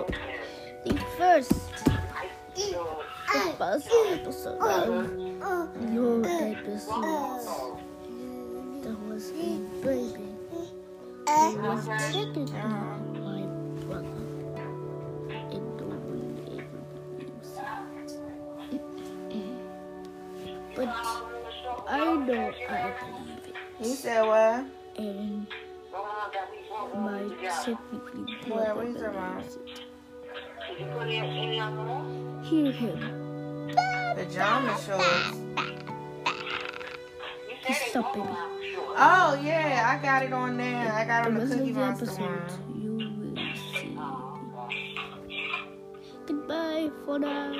the first episode of your episodes. That was a baby. He was technically my brother. And no one ever believes it. But I know I believe it. You said what? And my technically brother believes it. Hear him. Pajama shorts. Just stop, baby. Oh, yeah, I got it on there. I got it on the rest Cookie of the Monster episode, one. you will see. Goodbye for now.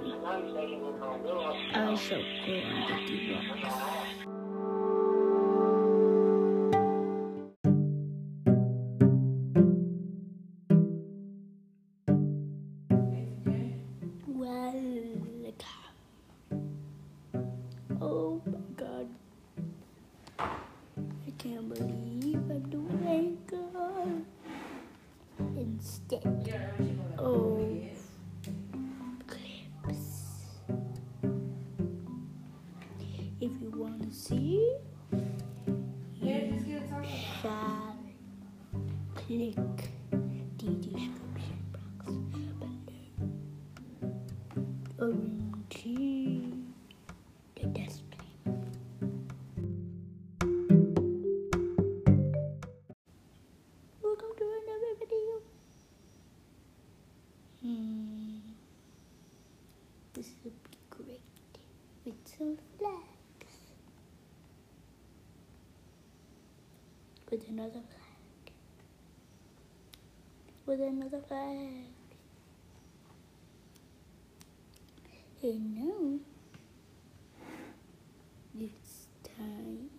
I shall go on the rocks. Oh my God. I can't believe I'm doing Anchor instead of clips. If you want to see, you shall click the description box below. Until the display. Welcome to another video. This will be great with some flags. With another flag. With another flag. And now it's time